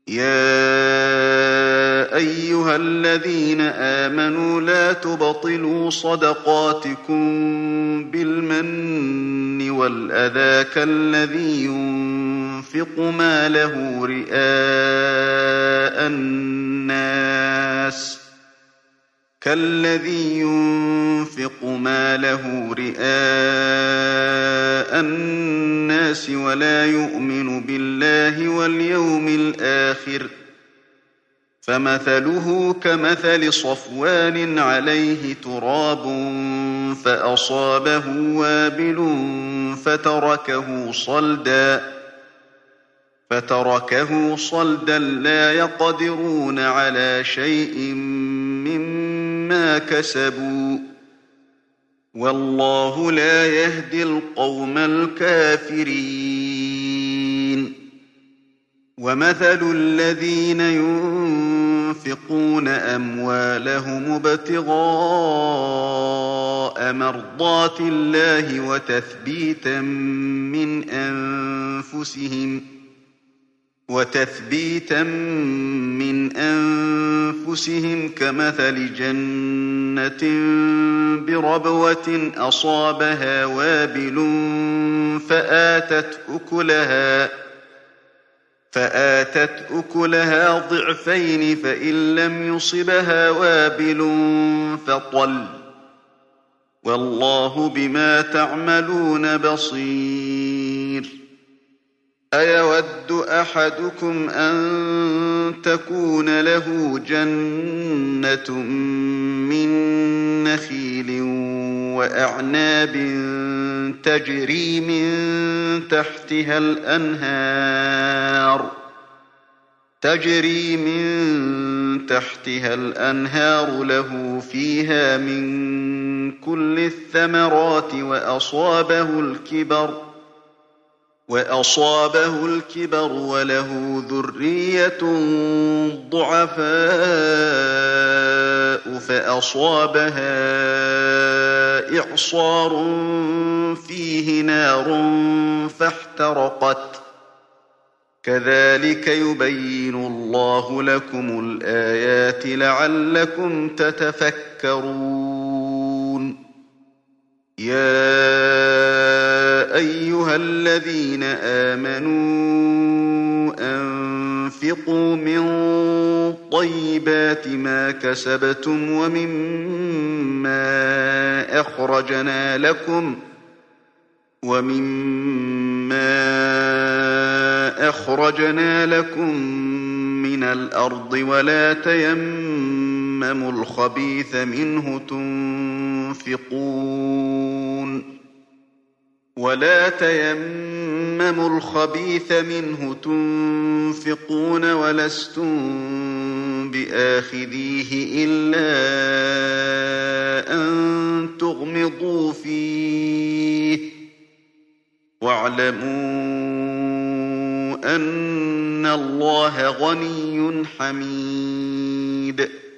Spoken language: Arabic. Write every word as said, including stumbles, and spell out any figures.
يَا أَيُّهَا الَّذِينَ آمَنُوا لَا تُبْطِلُوا صَدَقَاتِكُم بِالْمَنِّ وَالْأَذَىٰ كَالَّذِي يُنفِقُ مَالَهُ رِئَاءَ النَّاسِ كالذي ينفق ماله رئاء الناس ولا يؤمن بالله واليوم الآخر فمثله كمثل صفوان عليه تراب فأصابه وابل فتركه صلدا فتركه صلدا لا يقدرون على شيء مما كسبوا والله لا يهدي القوم الكافرين ومثل الذين ينفقون أموالهم ابتغاء مرضات الله وتثبيتا من أنفسهم وتثبيتا من أنفسهم كمثل جنة بربوة أصابها وابل فآتت أكلها فآتت أكلها ضعفين فإن لم يصبها وابل فطل والله بما تعملون بصير أيود أحدكم أن تكون له جنة من نخيل وأعناب تجري من تحتها الأنهار تجري من تحتها الأنهار له فيها من كل الثمرات وأصابه الكبر وأصابه الكبر وله ذرية ضعفاء فأصابها إعصار فيه نار فاحترقت كذلك يبين الله لكم الآيات لعلكم تتفكرون يا أيها الذين آمنوا أنفقوا من طيبات ما كسبتم ومما أخرجنا لكم ومما أخرجنا لكم من الأرض ولا تيمموا الخبيث منه تنفقون ولا تيمموا الخبيث منه تنفقون ولستم بآخذيه إلا أن تغمضوا فيه واعلموا أن الله غني حميد